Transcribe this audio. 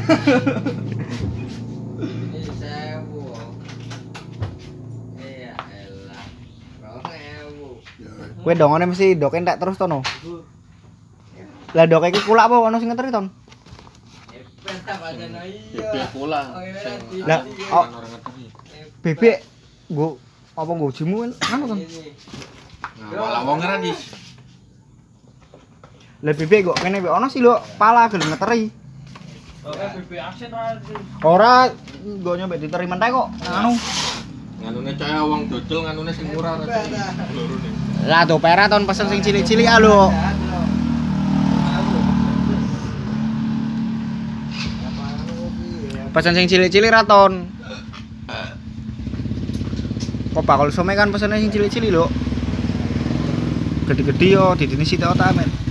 Ini 1000. Iya elah. 2000. Kowe dongane mesti doke entek terus to no. Lah doke iki kulak apa ono sing ngeteri ton? Pesta pancen iya. Bebek pula. Lah, oh. Bebek nggo apa nggo jimu anu ton? Malah wong ngera dis. Lah bebek kok kene ono sih lho, pala gelem ngeteri. Oke bebek aset aja. Ora nggo nyampe diteri mentek kok. Anu. Nganune caya wong dodol nganune sing murah ra. Lorone. Lah tuh pera ton pesen sing cilik-cilik ah lho. Pesen sing cilik-cilik ra ton. Kok bakal some kan pesene sing cilik-cilik lho. Gede-gede yo didini sithik ta men.